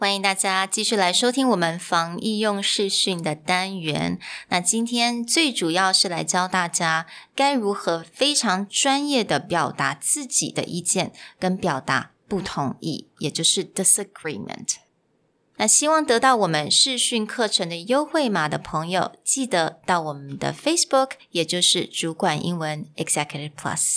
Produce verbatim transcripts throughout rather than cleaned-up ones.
欢迎大家继续来收听我们防疫用视讯的单元。那今天最主要是来教大家该如何非常专业的表达自己的意见，跟表达不同意，也就是 disagreement。那希望得到我们视讯课程的优惠码的朋友，记得到我们的 Facebook， 也就是主管英文 Executive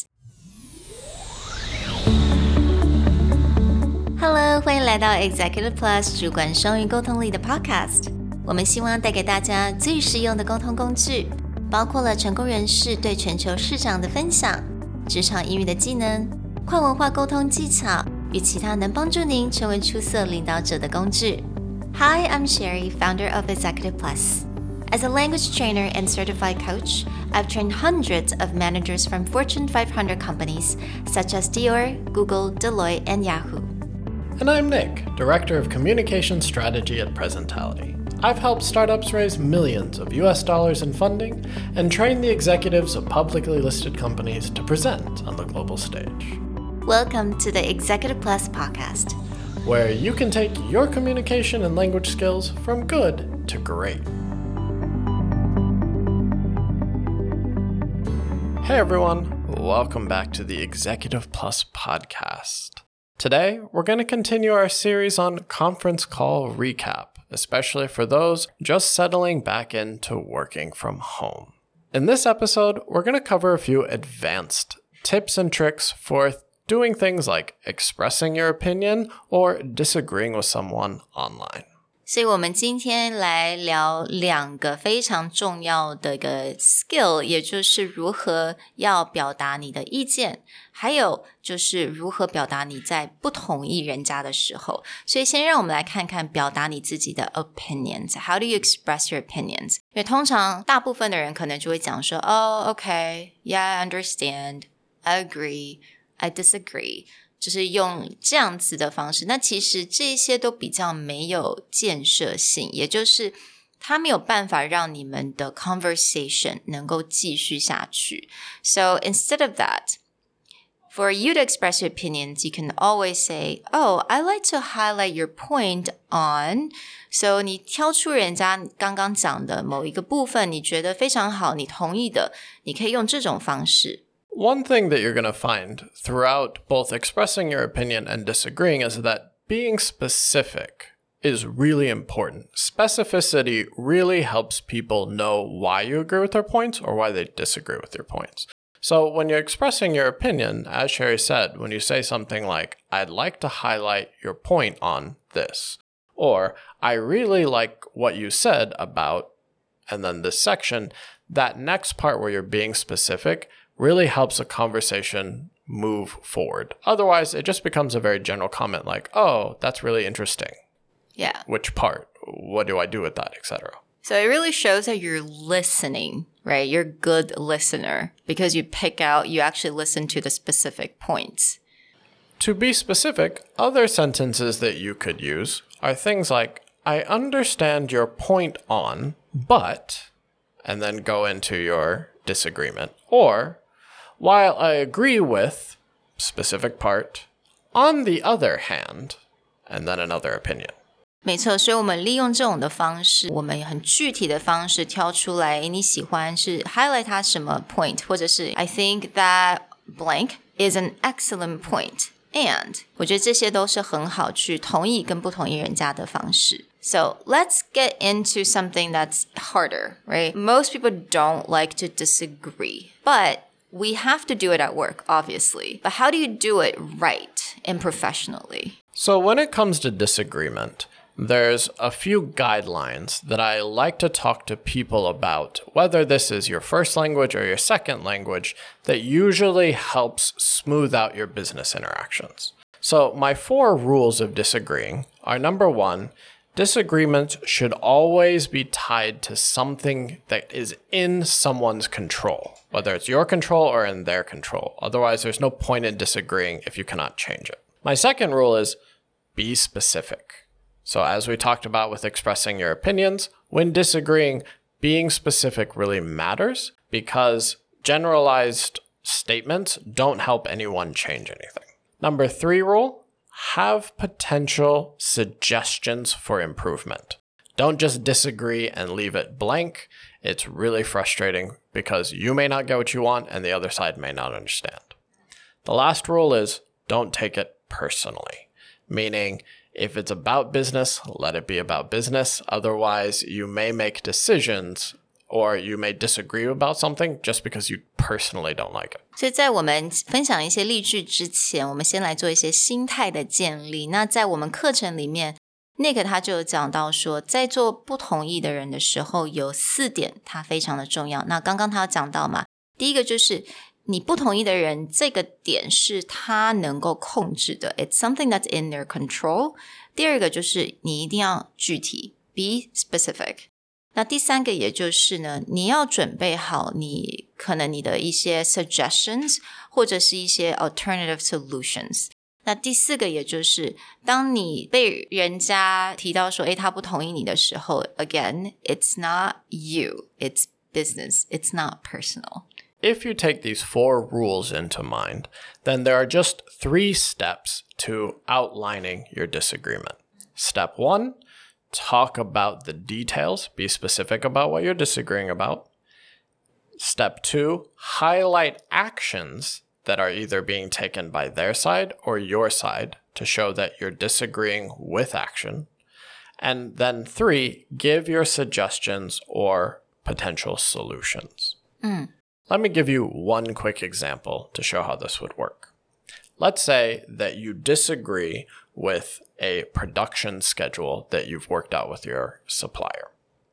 Plus。Hello， 欢迎来到 Executive Plus 主管双语沟通力的 Podcast。我们希望带给大家最实用的沟通工具，包括了成功人士对全球市场的分享、职场英语的技能、跨文化沟通技巧与其他能帮助您成为出色领导者的工具。Hi, I'm Sherry, founder of Executive Plus. As a language trainer and certified coach, I've trained hundreds of managers from Fortune five hundred companies such as Dior, Google, Deloitte, and Yahoo.And I'm Nick, Director of Communication Strategy at Presentality. I've helped startups raise millions of U S dollars in funding and train the executives of publicly listed companies to present on the global stage. Welcome to the Executive Plus podcast, where you can take your communication and language skills from good to great. Hey everyone, welcome back to the Executive Plus podcast.Today, we're going to continue our series on conference call recap, especially for those just settling back into working from home. In this episode, we're going to cover a few advanced tips and tricks for doing things like expressing your opinion or disagreeing with someone online. 所以我们今天来聊两个非常重要的一个 skill， 也就是如何要表达你的意见，还有就是如何表达你在不同意人家的时候。所以先让我们来看看表达你自己的 opinions. How do you express your opinions? 因为通常大部分的人可能就会讲说，哦 OK, yeah, I understand, I agree, I disagree.就是用这样子的方式，那其实这些都比较没有建设性，也就是它没有办法让你们的 conversation 能够继续下去。So instead of that, for you to express your opinions, you can always say, oh, I like to highlight your point on. So 你挑出人家刚刚讲的某一个部分，你觉得非常好，你同意的，你可以用这种方式。 One thing that you're going to find throughout both expressing your opinion and disagreeing is that being specific is really important. Specificity really helps people know why you agree with their points or why they disagree with your points. So when you're expressing your opinion, as Sherry said, when you say something like, I'd like to highlight your point on this, or I really like what you said about, and then this section, that next part where you're being specific really helps a conversation move forward. Otherwise, it just becomes a very general comment like, oh, that's really interesting. Yeah. Which part? What do I do with that, et cetera. So it really shows that you're listening, right? You're a good listener because you pick out, you actually listen to the specific points. To be specific, other sentences that you could use are things like, I understand your point on, but, and then go into your disagreement. Or, while I agree with, specific part, on the other hand, and then another opinion. 没错，所以我们利用这种的方式，我们很具体的方式挑出来，你喜欢是 highlight 它什么 point， 或者是 I think that blank is an excellent point. And 我觉得这些都是很好去同意跟不同意人家的方式。So let's get into something that's harder, right? Most people don't like to disagree, but we have to do it at work, obviously. But how do you do it right and professionally? So when it comes to disagreement, there's a few guidelines that I like to talk to people about, whether this is your first language or your second language, that usually helps smooth out your business interactions. So my four rules of disagreeing are, number one, disagreements should always be tied to something that is in someone's control, whether it's your control or in their control. Otherwise, there's no point in disagreeing if you cannot change it. My second rule is be specific. So as we talked about with expressing your opinions, when disagreeing, being specific really matters because generalized statements don't help anyone change anything. Number three rule, have potential suggestions for improvement. Don't just disagree and leave it blank. It's really frustrating because you may not get what you want and the other side may not understand. The last rule is don't take it personally, meaning if it's about business, let it be about business. Otherwise, you may make decisions or you may disagree about something just because you personally don't like it. 所以在我们分享一些例句之前，我们先来做一些心态的建立。那在我们课程里面Nick 他就有讲到说，在做不同意的人的时候，有四点它非常的重要。那刚刚他有讲到嘛，第一个就是你不同意的人，这个点是他能够控制的 ，It's something that's in their control。第二个就是你一定要具体 ，be specific。那第三个也就是呢，你要准备好你可能你的一些 suggestions 或者是一些 alternative solutions。那第四个也就是当你被人家提到说诶他不同意你的时候 again it's not you it's business it's not personal. If you take these four rules into mind, then there are just three steps to outlining your disagreement. Step one, talk about the details, be specific about what you're disagreeing about. Step two, highlight actions that are either being taken by their side or your side to show that you're disagreeing with action. And then three, give your suggestions or potential solutions. Mm. Let me give you one quick example to show how this would work. Let's say that you disagree with a production schedule that you've worked out with your supplier.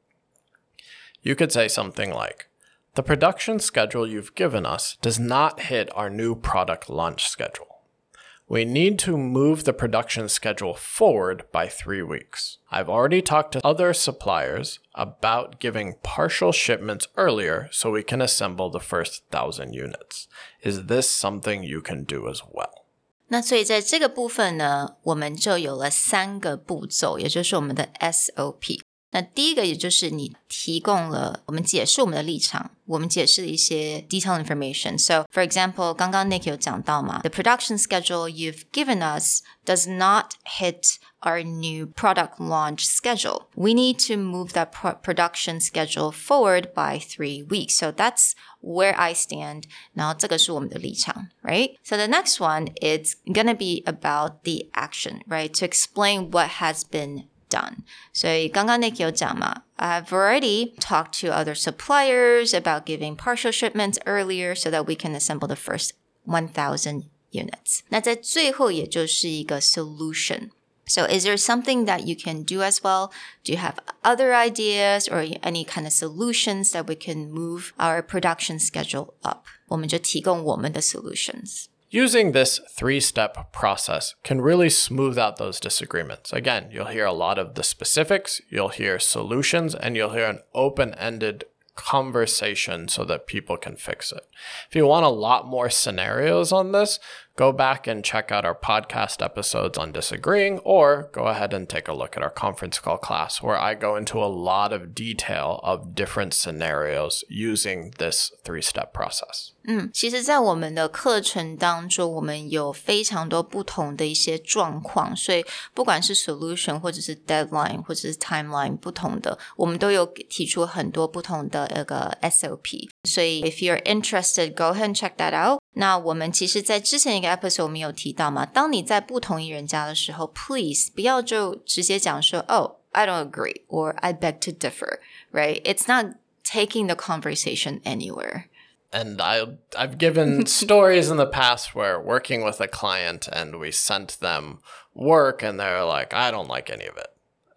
You could say something like, the production schedule you've given us does not hit our new product launch schedule. We need to move the production schedule forward by three weeks. I've already talked to other suppliers about giving partial shipments earlier so we can assemble the first thousand units. Is this something you can do as well? 那所以在这个部分呢，我们就有了三个步骤，也就是我们的 S O P。那第一个也就是你提供了我们解释我们的立场，我们解释了一些 detailed information. So, for example, 刚刚 Nick 有讲到嘛 the production schedule you've given us does not hit our new product launch schedule. We need to move that pro- production schedule forward by three weeks. So that's where I stand. 然后这个是我们的立场 right? So the next one, it's gonna be about the action, right? To explain what has been done. 所以刚刚 Nick 有讲嘛 I've already talked to other suppliers about giving partial shipments earlier so that we can assemble the first one thousand units. 那在最后也就是一个 solution. So is there something that you can do as well? Do you have other ideas or any kind of solutions that we can move our production schedule up? 我们就提供我们的 solutions. Using this three-step process can really smooth out those disagreements. Again, you'll hear a lot of the specifics, you'll hear solutions, and you'll hear an open-ended conversation so that people can fix it. If you want a lot more scenarios on this, go back and check out our podcast episodes on disagreeing, or go ahead and take a look at our conference call class where I go into a lot of detail of different scenarios using this three-step process. 嗯，其实在我们的课程当中，我们有非常多不同的一些状况，所以不管是 solution 或者是 deadline 或者是 timeline 不同的，我们都有提出很多不同的那个 S O P。所以 if you're interested, go ahead and check that out. 那我们其实在之前一个 episode 我们有提到嘛，当你在不同意人家的时候 please 不要就直接讲说 oh, I don't agree or I beg to differ, right? It's not taking the conversation anywhere. And I, I've given stories in the past where working with a client and we sent them work and they're like, I don't like any of it.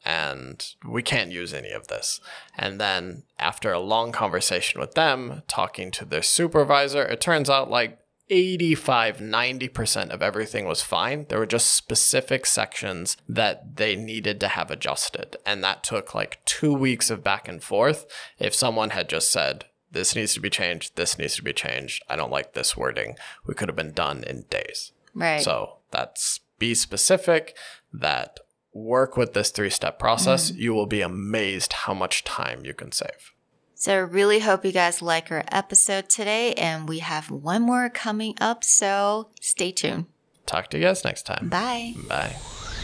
And we can't use any of this. And then after a long conversation with them, talking to their supervisor, it turns out like eighty-five, ninety percent of everything was fine. There were just specific sections that they needed to have adjusted. And that took like two weeks of back and forth. If someone had just said, this needs to be changed, this needs to be changed, I don't like this wording, we could have been done in days. Right. So that's be specific, that work with this three-step process. Mm. You will be amazed how much time you can save. So I really hope you guys like our episode today, and we have one more coming up, so stay tuned. Talk to you guys next time. Bye. Bye.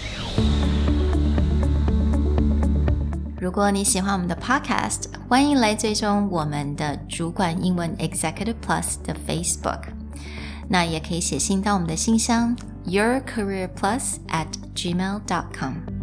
如果你喜欢我们的 podcast， 欢迎来追踪我们的主管英文 Executive Plus 的 Facebook。那也可以写信到我们的信箱 yourcareerplus at gmail dot com。